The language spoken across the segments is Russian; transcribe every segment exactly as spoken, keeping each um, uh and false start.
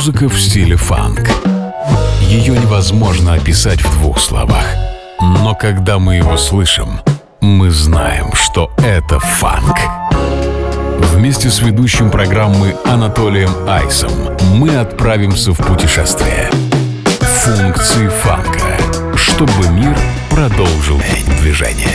Музыка в стиле фанк. Ее невозможно описать в двух словах. Но когда мы его слышим, мы знаем, что это фанк. Вместе с ведущим программы Анатолием Айсом мы отправимся в путешествие. Функции фанка, чтобы мир продолжил движение.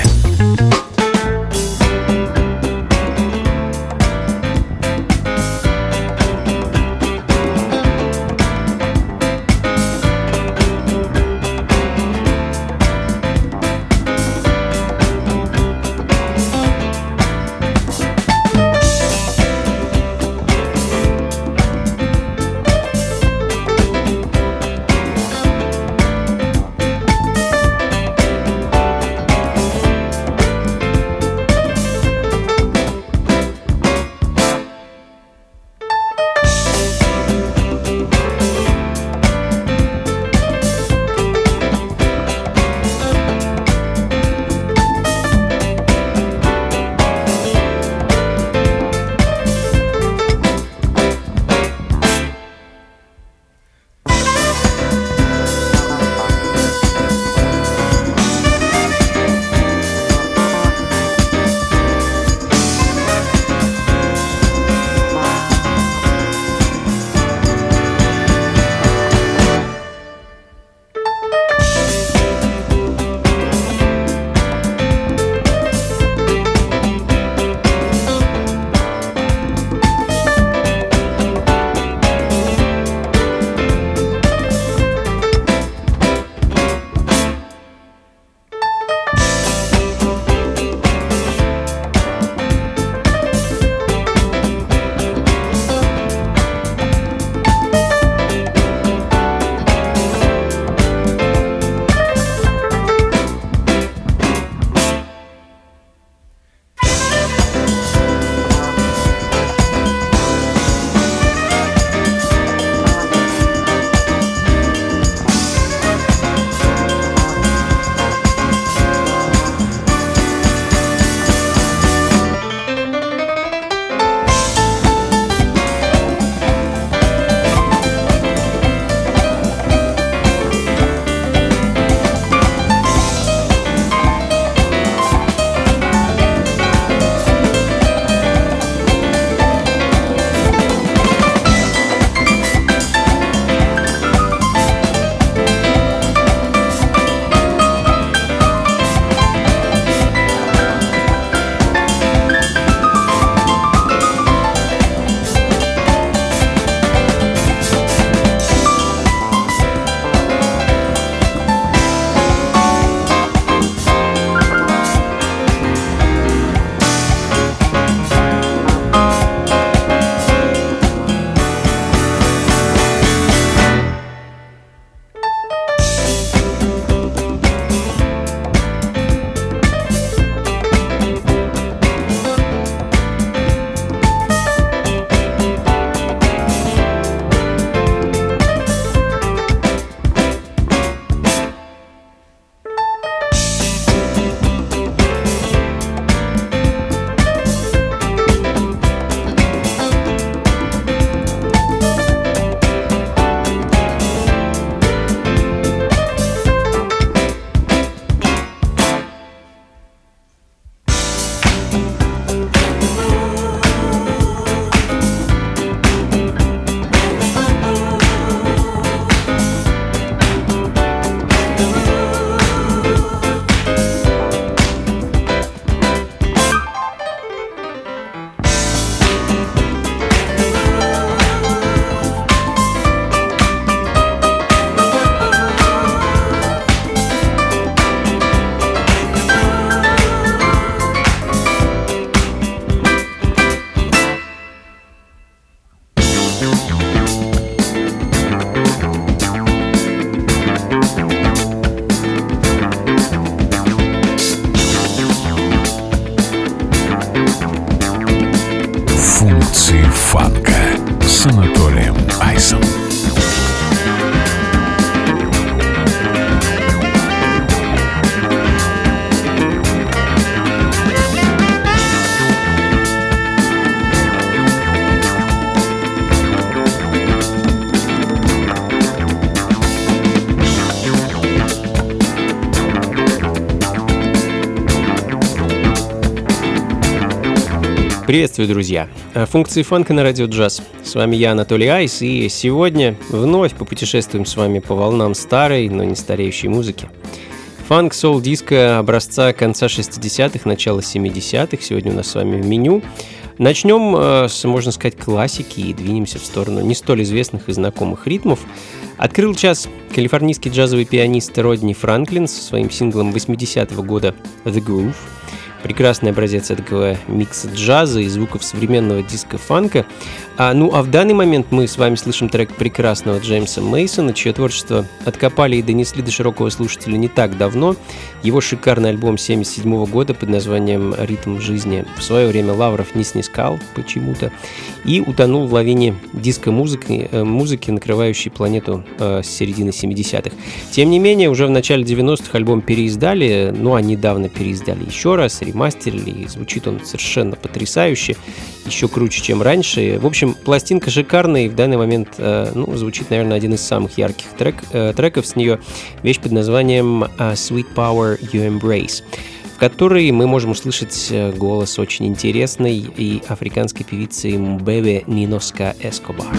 Приветствую, друзья! Функции фанка на радио джаз. С вами я, Анатолий Айс, и сегодня вновь попутешествуем с вами по волнам старой, но не стареющей музыки. Фанк, соул, диско образца конца шестидесятых, начала семидесятых сегодня у нас с вами в меню. Начнем с, можно сказать, классики и двинемся в сторону не столь известных и знакомых ритмов. Открыл час калифорнийский джазовый пианист Родни Франклин со своим синглом восьмидесятого года «The Groove». Прекрасный образец этого микса джаза и звуков современного диско-фанка. А, ну а в данный момент мы с вами слышим трек прекрасного Джеймса Мейсона, чье творчество откопали и донесли до широкого слушателя не так давно. Его шикарный альбом семьдесят седьмого года под названием «Ритм жизни» в свое время лавров не снискал почему-то и утонул в лавине диско-музыки, музыки, накрывающей планету э, с середины семидесятых. Тем не менее, уже в начале девяностых альбом переиздали, ну а недавно переиздали еще раз, ремастерили, и звучит он совершенно потрясающе, еще круче, чем раньше. В общем, пластинка шикарная, и в данный момент э, ну, звучит, наверное, один из самых ярких трек, э, треков с нее, вещь под названием «Sweet Power You Embrace», в которой мы можем услышать голос очень интересной и африканской певицы Мбебе Ниноска Эскобар.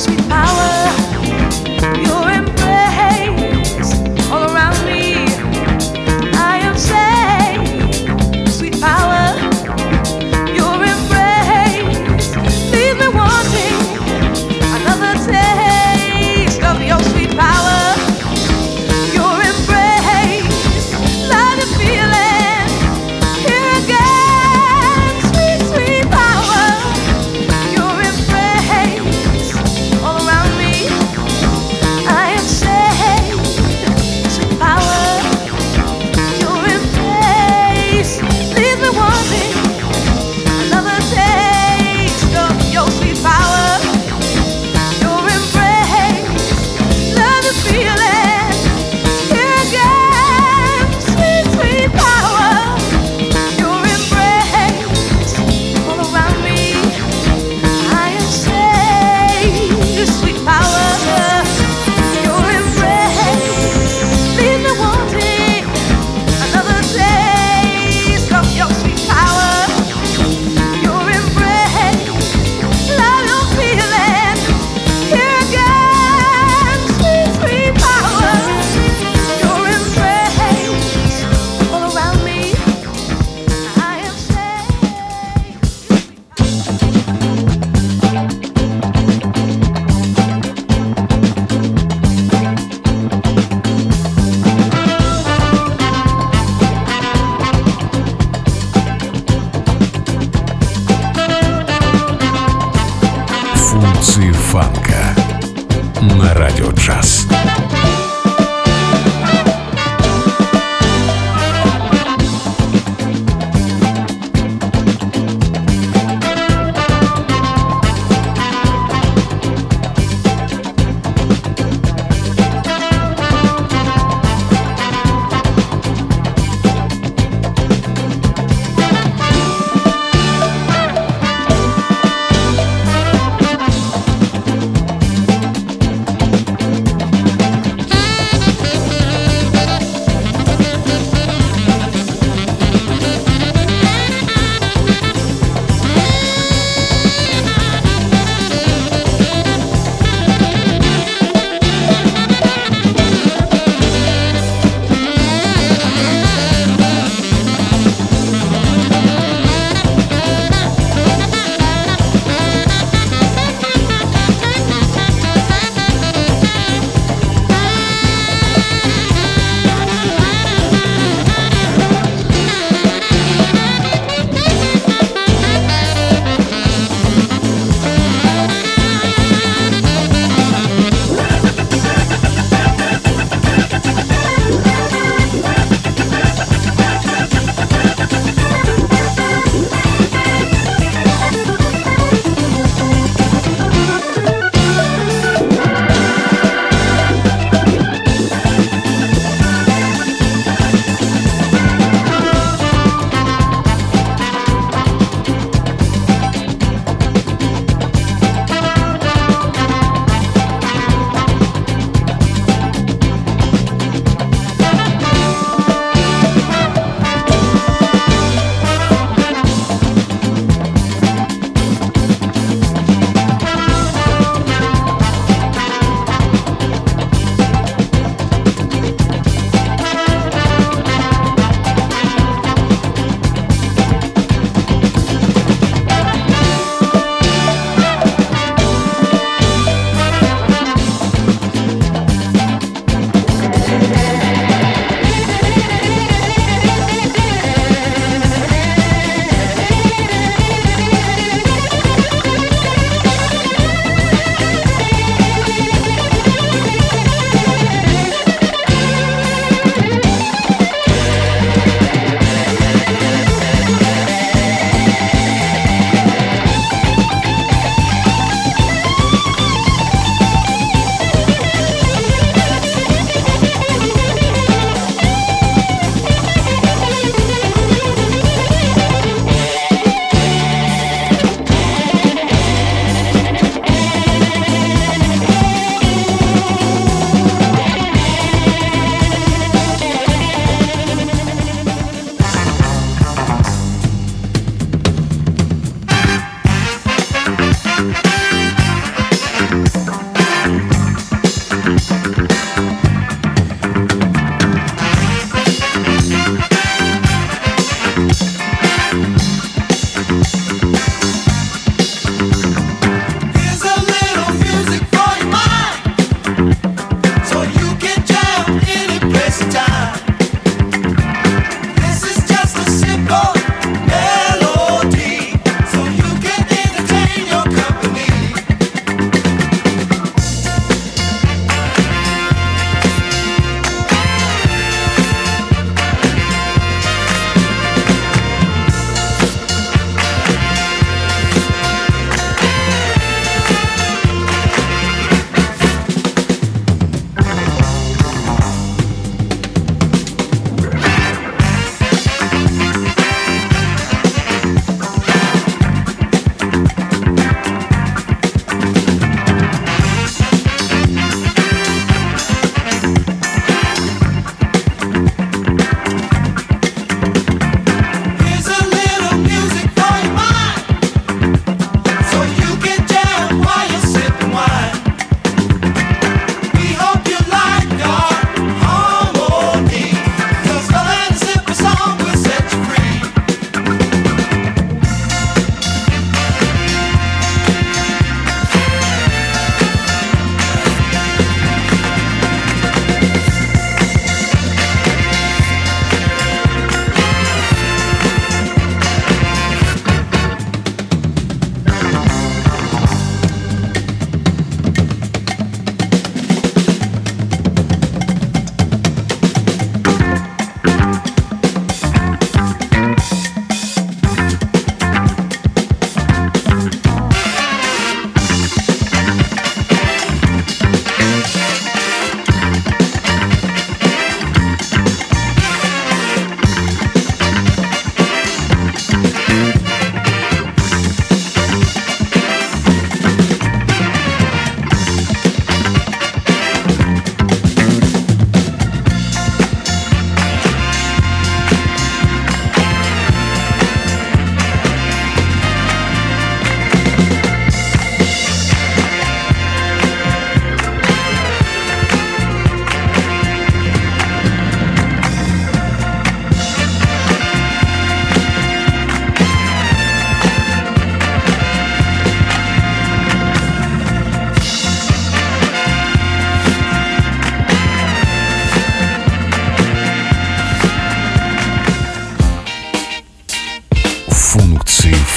Power, your embrace all around me.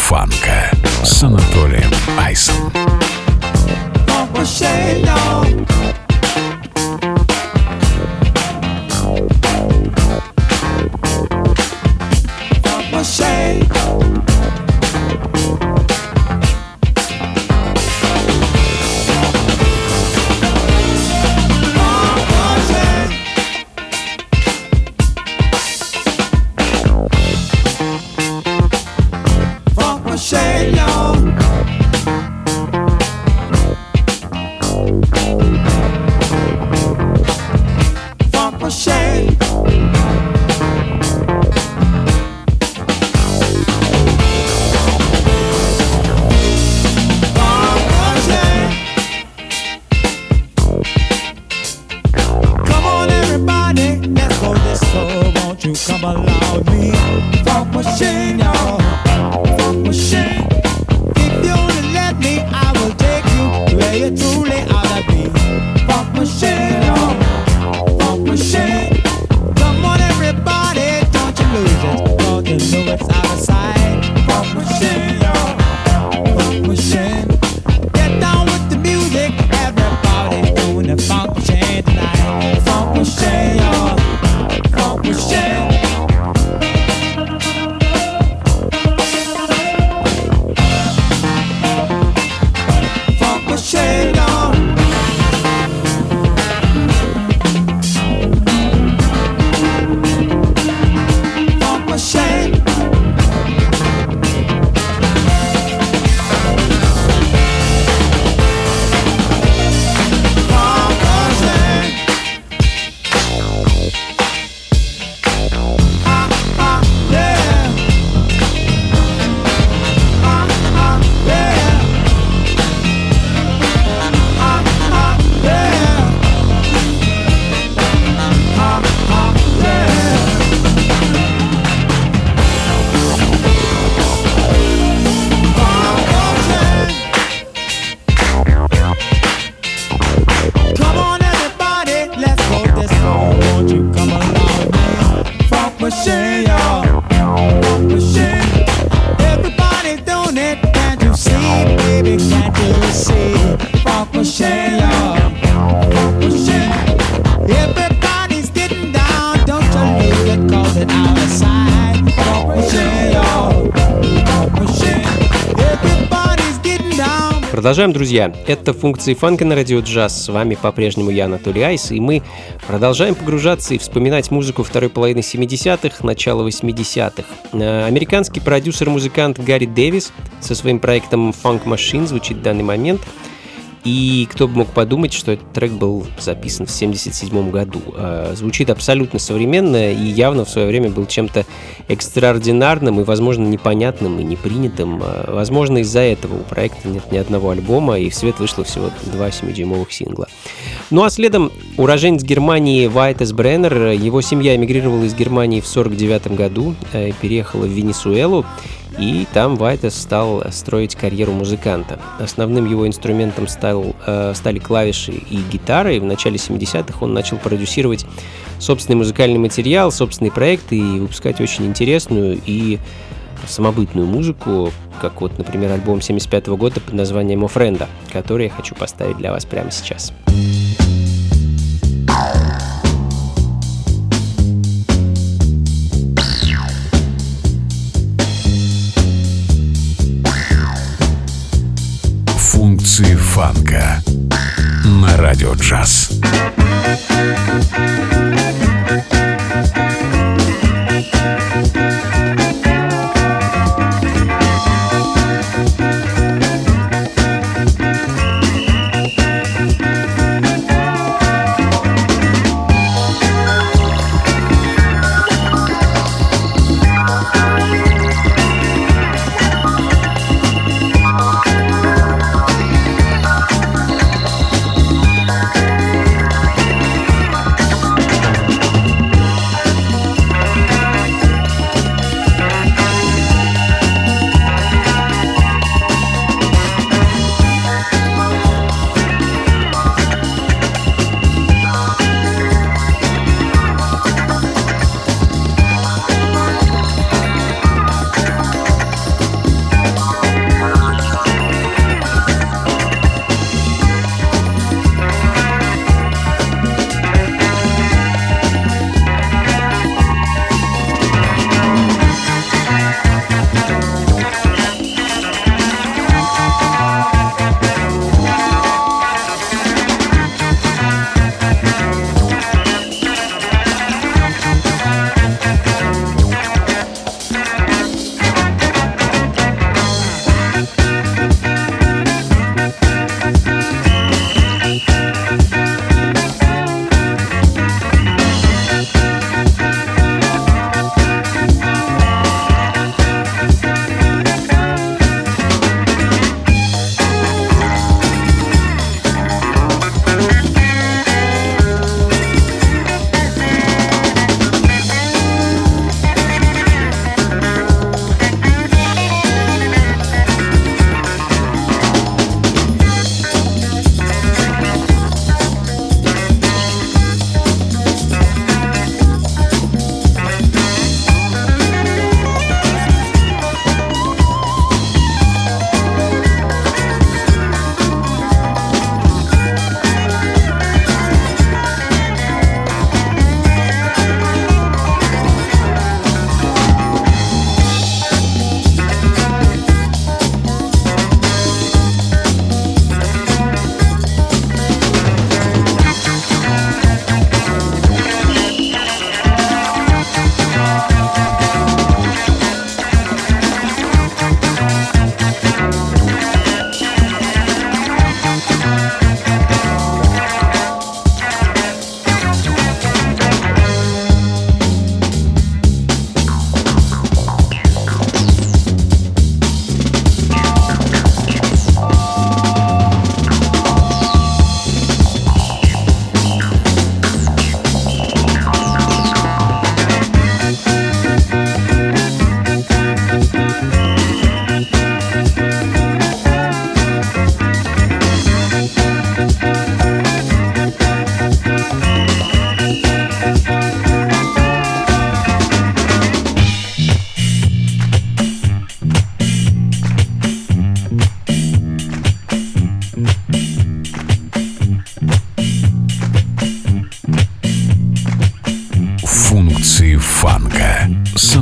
фанка с Анатолием Айсом. Продолжаем, друзья. Это функции фанка на радио джаз. С вами по-прежнему я, Анатолий Айс, и мы продолжаем погружаться и вспоминать музыку второй половины семидесятых, начала восьмидесятых. Американский продюсер-музыкант Гарри Дэвис со своим проектом Funk Machine звучит в данный момент. И кто бы мог подумать, что этот трек был записан в семьдесят седьмом году. Звучит абсолютно современно и явно в свое время был чем-то экстраординарным и, возможно, непонятным и непринятым. Возможно, из-за этого у проекта нет ни одного альбома, и в свет вышло всего два семидюймовых сингла. Ну а следом уроженец Германии Вайтес Бреннер. Его семья эмигрировала из Германии в сорок девятом году, переехала в Венесуэлу. И там Вайтес стал строить карьеру музыканта. Основным его инструментом стал, э, стали клавиши и гитара, и в начале семидесятых он начал продюсировать собственный музыкальный материал, собственные проекты и выпускать очень интересную и самобытную музыку, как вот, например, альбом семьдесят пятого года под названием «Офренда», который я хочу поставить для вас прямо сейчас. Функции фанка на радио джаз.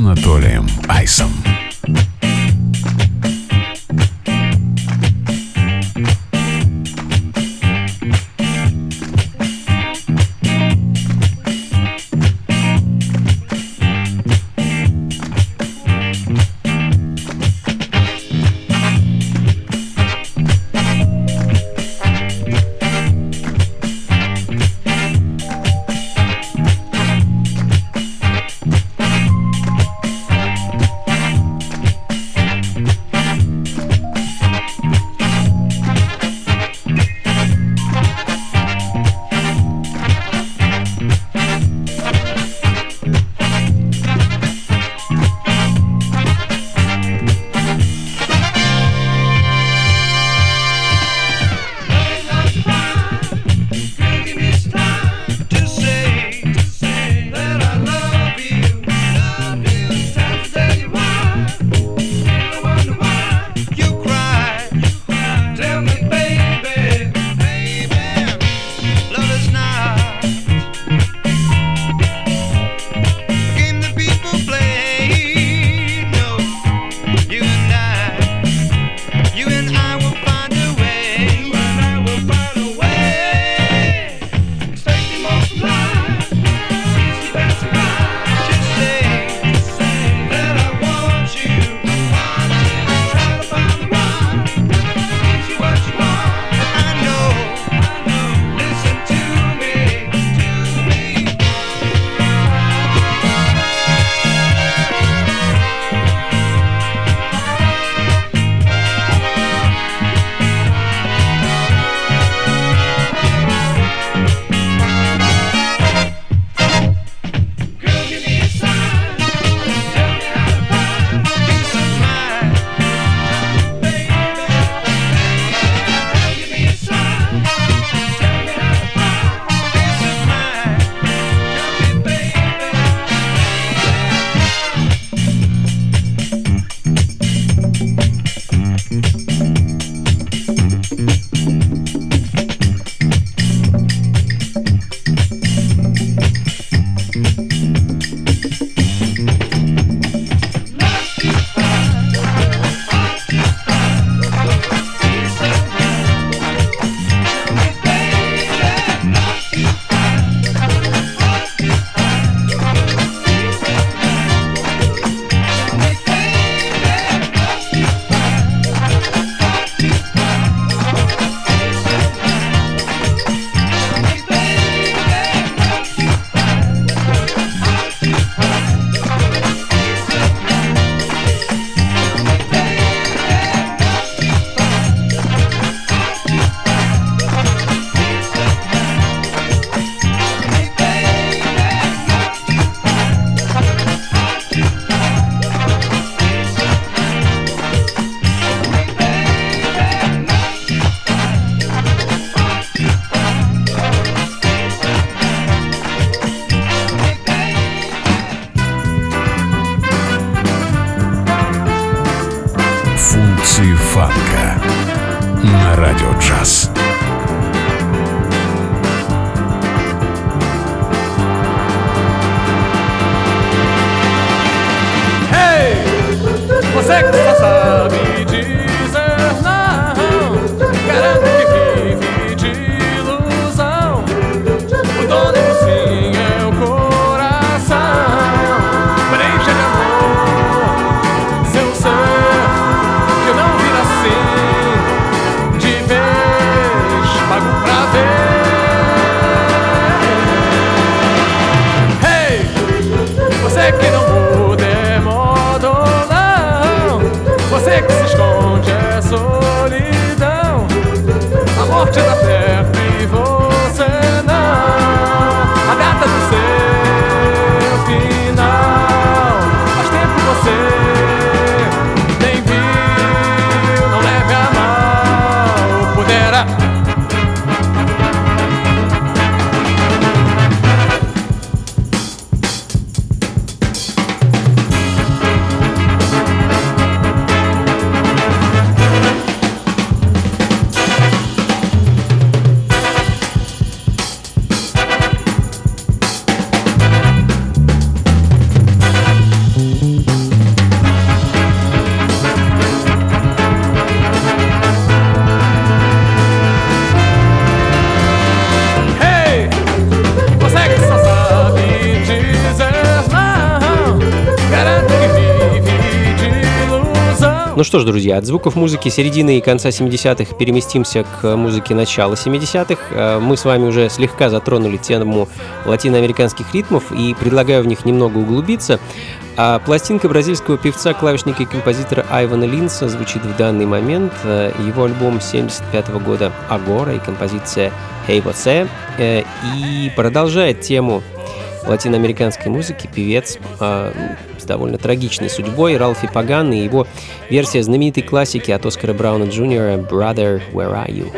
Анатолием Айсом. Фанка на радио джаз. Hey, você que só sabe dizer não, garante que vive de ilusão. O dono do sim é o coração, preencha de amor seu ser. Você que não muda é modo não, Ну что ж, друзья, от звуков музыки середины и конца семидесятых переместимся к музыке начала семидесятых. Мы с вами уже слегка затронули тему латиноамериканских ритмов и предлагаю в них немного углубиться. А пластинка бразильского певца, клавишника и композитора Айвана Линса звучит в данный момент. Его альбом семьдесят пятого года «Агора» и композиция «Hey Você». И продолжает тему латиноамериканской музыки певец э, с довольно трагичной судьбой Ралфи Паган и его версия знаменитой классики от Оскара Брауна Джуниора «Brother, Where Are You?».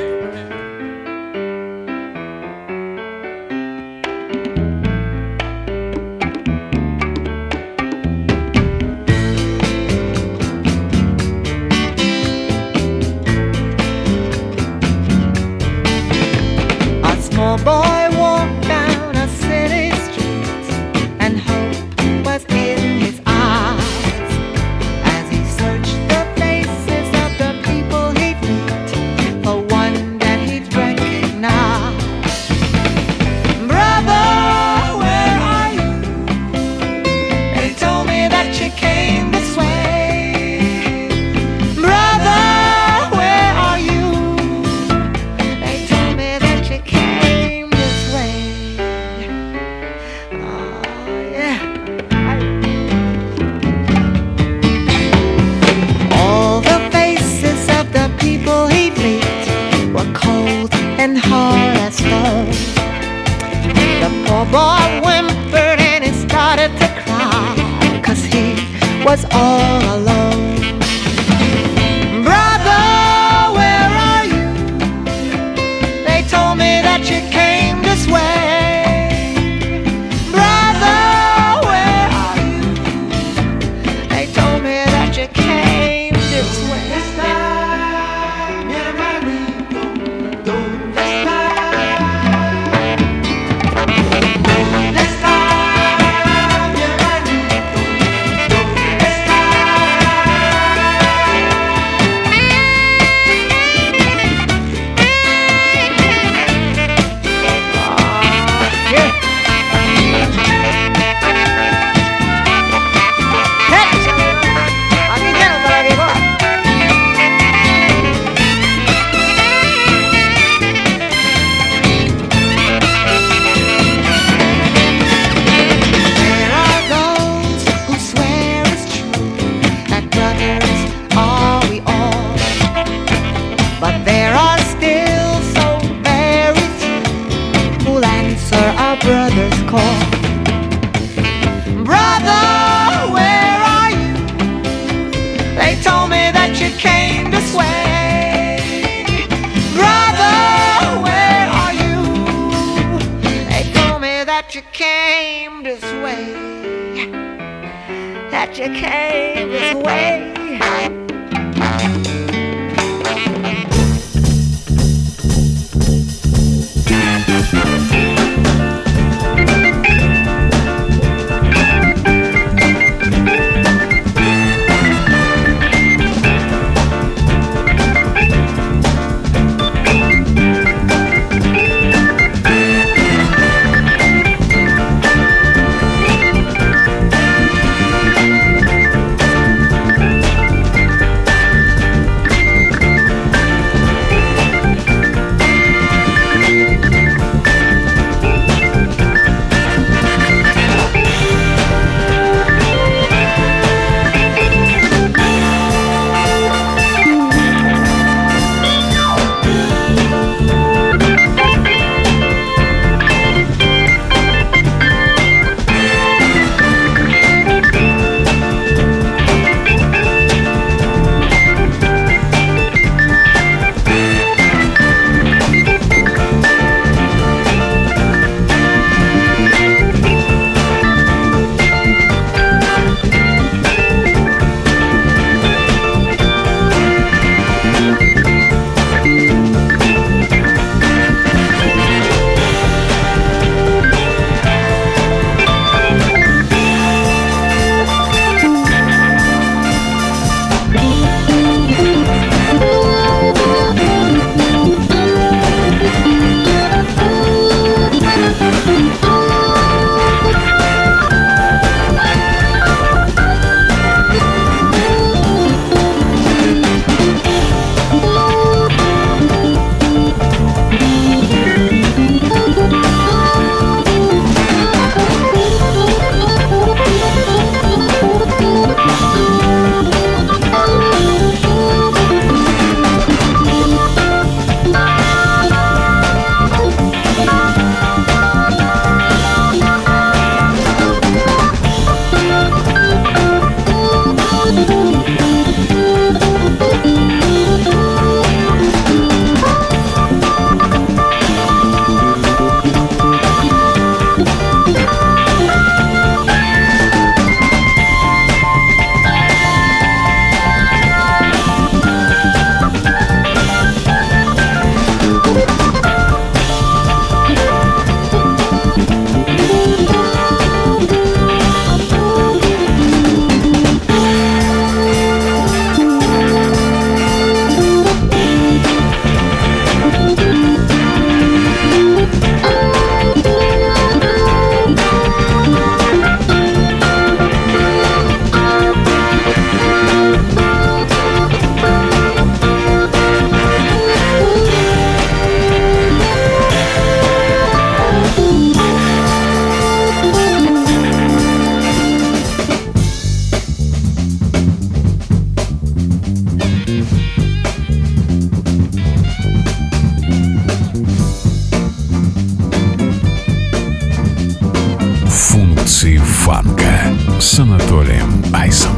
фанка с Анатолием Айсом.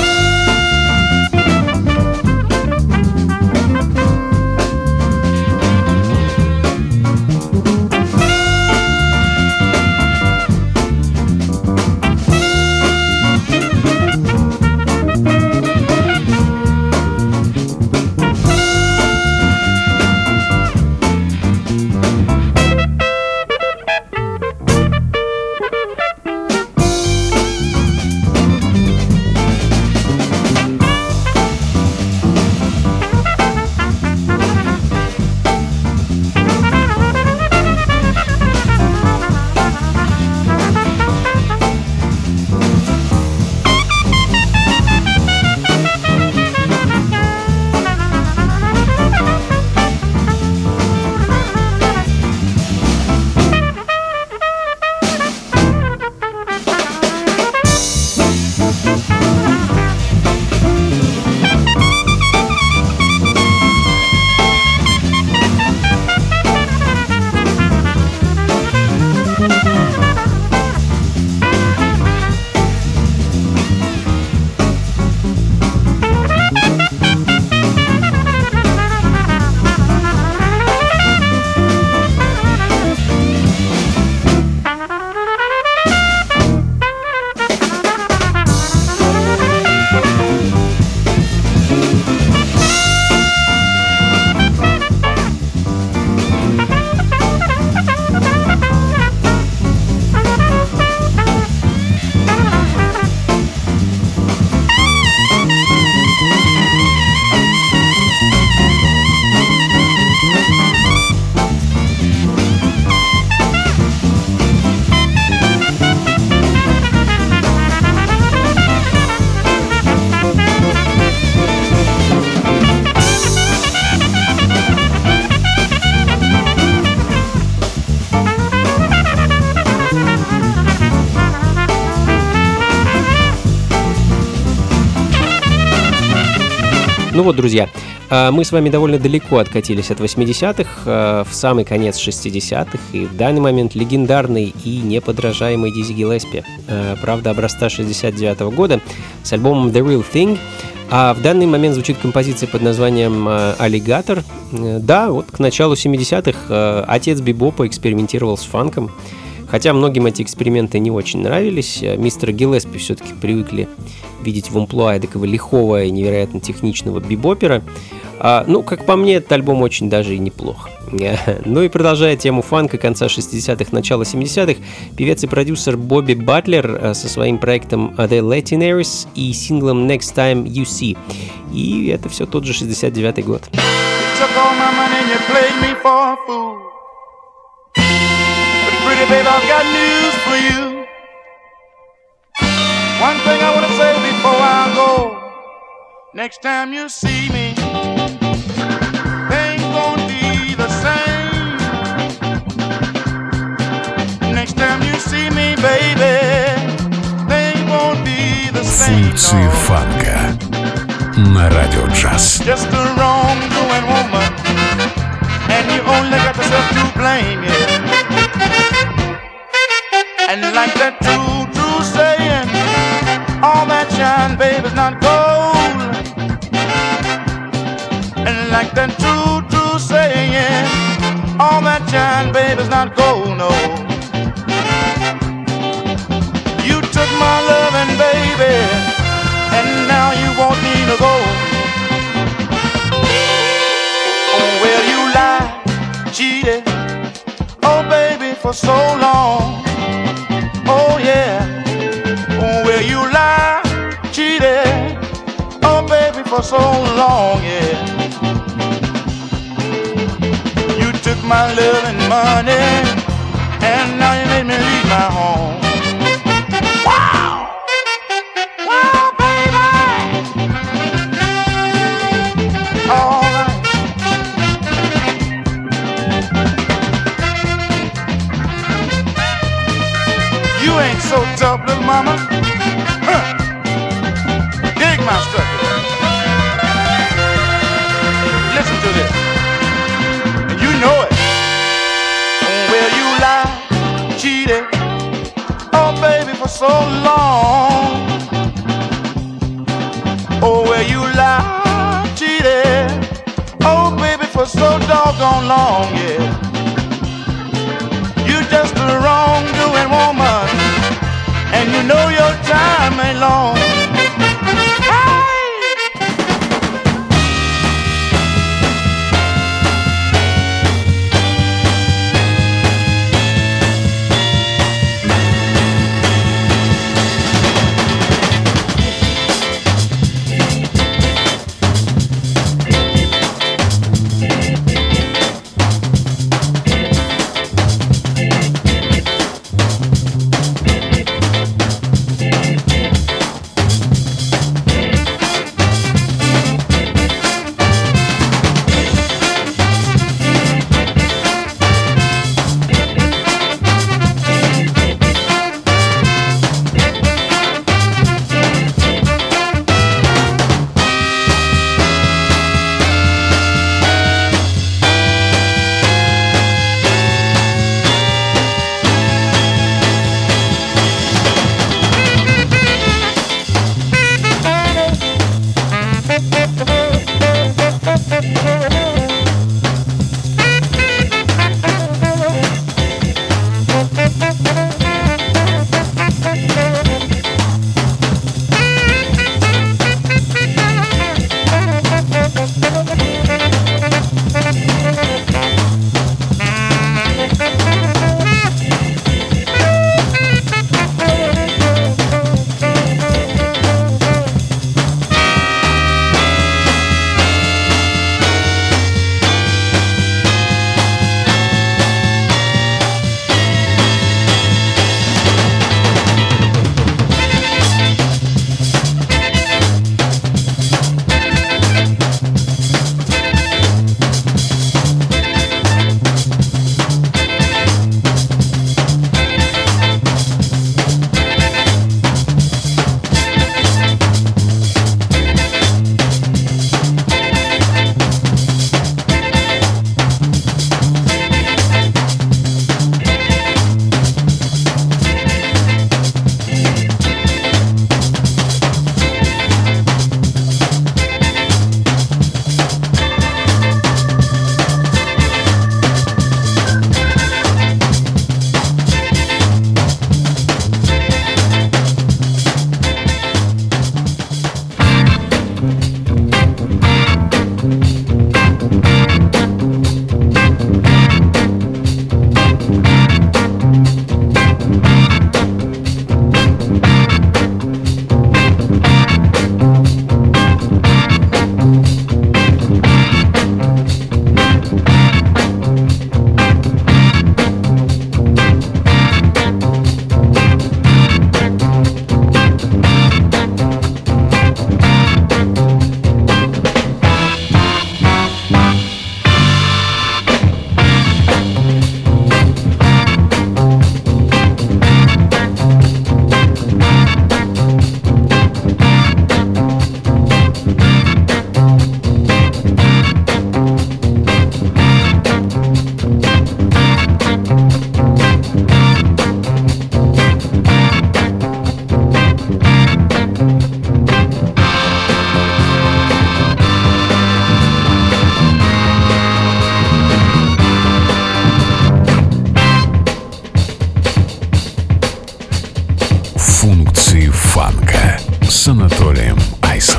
Ну вот, друзья, мы с вами довольно далеко откатились от восьмидесятых в самый конец шестидесятых, и в данный момент легендарный и неподражаемый Дизи Гиллеспи, правда, образца шестьдесят девятого года, с альбомом The Real Thing. А в данный момент звучит композиция под названием «Аллигатор». Да, вот к началу семидесятых отец бибопа экспериментировал с фанком. Хотя многим эти эксперименты не очень нравились, мистера Гиллеспи все-таки привыкли видеть в амплуа такого лихого и невероятно техничного бибопера. А, ну, как по мне, этот альбом очень даже и неплох. Ну и продолжая тему фанка конца шестидесятых, начала семидесятых, певец и продюсер Бобби Батлер со своим проектом The Latinaries и синглом Next Time You See. И это все тот же шестьдесят девятый год. Pretty babe, I've got news for you. One thing I want to say before I go. Next time you see me, things won't be the same. Next time you see me, baby, things won't be the same. Функции фанка на радио джаз. Just a wrongdoing woman, and you only got yourself to blame, yeah. And like that true, true saying, all that shine, babe, is not gold. And like that true, true saying, all that shine, babe, is not gold, no. You took my loving, baby, and now you want me to go. Oh, well, you lied, cheated, oh, baby, for so long. Oh yeah, well you lie, cheated, oh baby for so long, yeah. You took my love and money, and now you made me leave my home. Wow, wow baby, all right. You ain't so tough, little mama. Huh. Dig my structure. Listen to this. And you know it. Well, you lie, cheated, oh baby, for so long. Oh, where you lie, cheated. Oh, baby, for so doggone long, yeah. You just a wrongdoing woman, and you know your time ain't long. с Анатолием Айсом.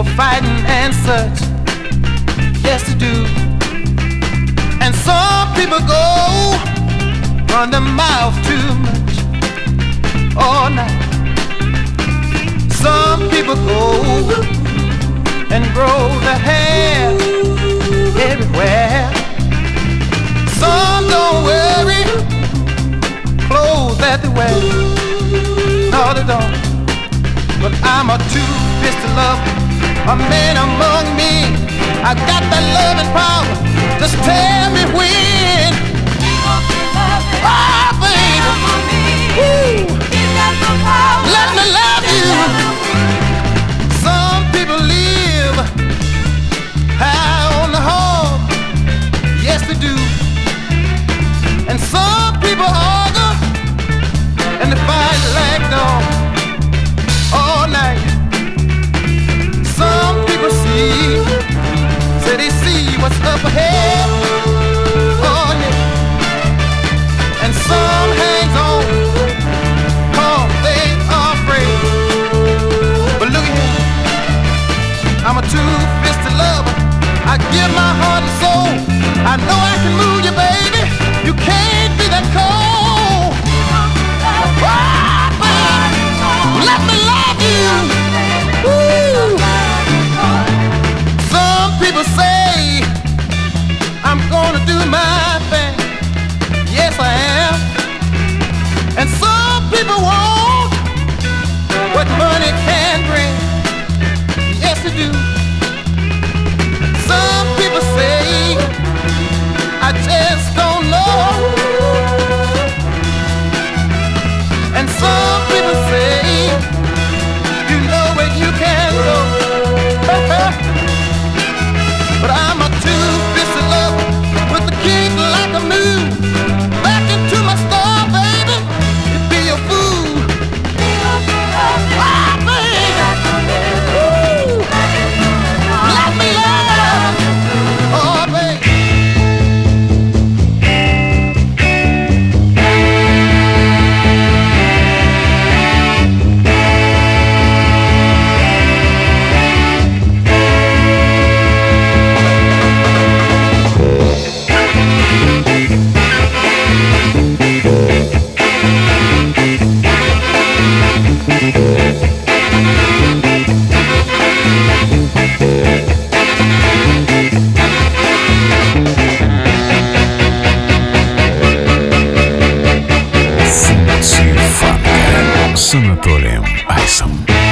for fighting and such. Yes, they do. And some people go run their mouth too much all night. Some people go and grow their hair everywhere. Some don't worry clothes that they wear. No, they don't. But I'm a two-fisted lover, a man among men. I got that loving power. Just tell me when. Oh, baby. Woo. Let me love you. Some people live high on the hog. Yes, they do. And some people argue and they fight like dogs all night. Some people see, say they see what's up ahead. Oh yeah. And some hangs on, cause they are afraid. But look at here, I'm a two-fisted lover. I give my heart and soul. I know I can move you, baby. You can't be that cold. Oh, baby, let me love you. Woo. Some people say I'm gonna do my thing. Yes, I am. And some people want what money can bring. Yes, they do. Some people say I just don't know. And some people say you know where you can go. But I'm a two-fisted lover with a kick like a mule. Back into my star, baby, you'd be a fool. Ah, baby. Woo. Let me love. Oh, baby. Функции фанка с Анатолием Айсом.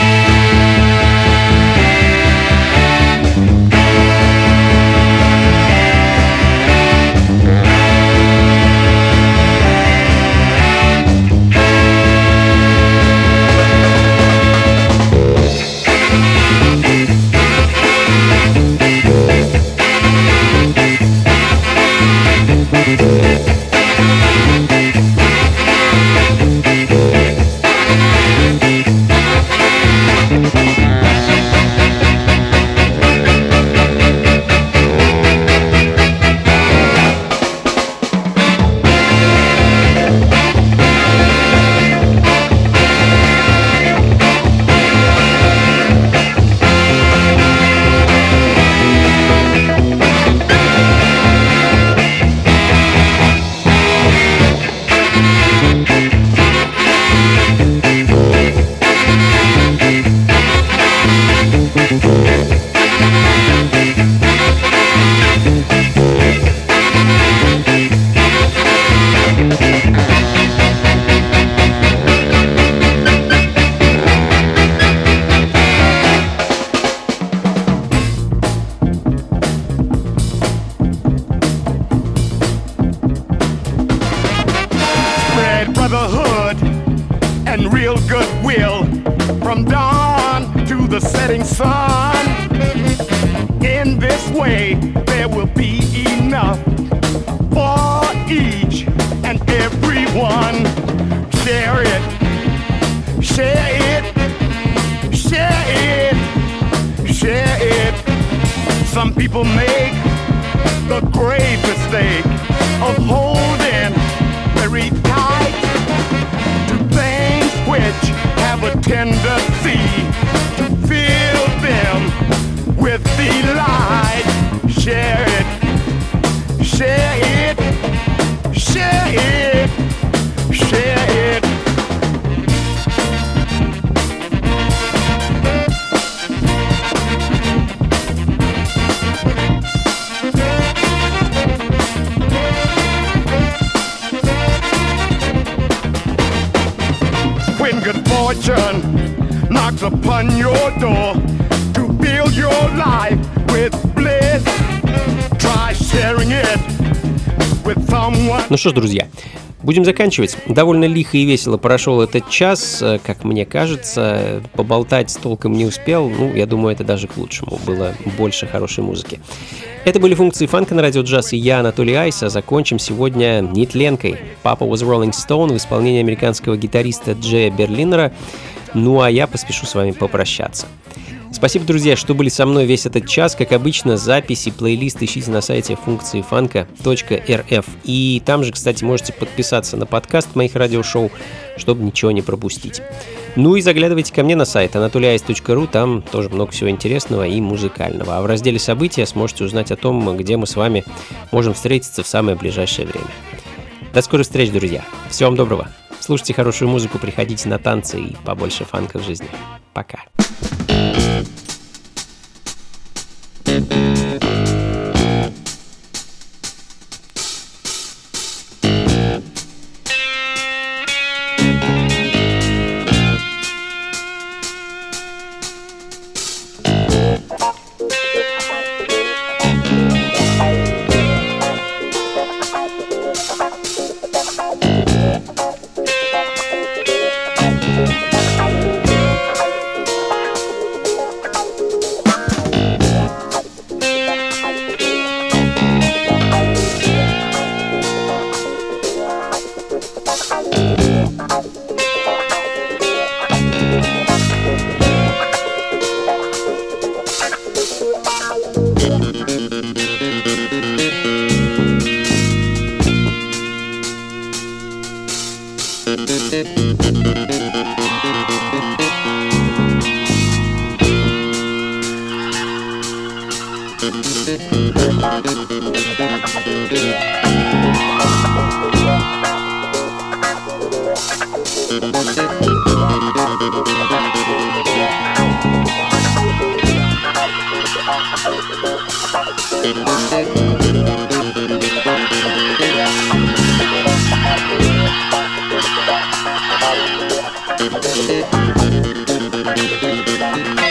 Spread brotherhood and real goodwill from dawn to the setting sun. In this way, there will be enough for each and everyone. Share it, share it, share it, share it. Some people make the grave mistake of holding very tight to things which have a tendency to fill them temptation knocks upon your door to fill your life with bliss. Try sharing it with someone. Ну что ж, друзья, будем заканчивать. Довольно лихо и весело прошел этот час, как мне кажется. Поболтать толком не успел. Ну, я думаю, это даже к лучшему. Было больше хорошей музыки. Это были функции фанка на радио джаз, и я, Анатолий Айс, а закончим сегодня нетленкой. Papa was Rolling Stone в исполнении американского гитариста Джея Берлинера. Ну, а я поспешу с вами попрощаться. Спасибо, друзья, что были со мной весь этот час. Как обычно, записи, плейлист ищите на сайте функции фанка точка эр эф. И там же, кстати, можете подписаться на подкаст моих радиошоу, чтобы ничего не пропустить. Ну и заглядывайте ко мне на сайт анатолий айс точка ру, там тоже много всего интересного и музыкального. А в разделе «События» сможете узнать о том, где мы с вами можем встретиться в самое ближайшее время. До скорых встреч, друзья. Всего вам доброго. Слушайте хорошую музыку, приходите на танцы и побольше фанка в жизни. Пока. Thank you.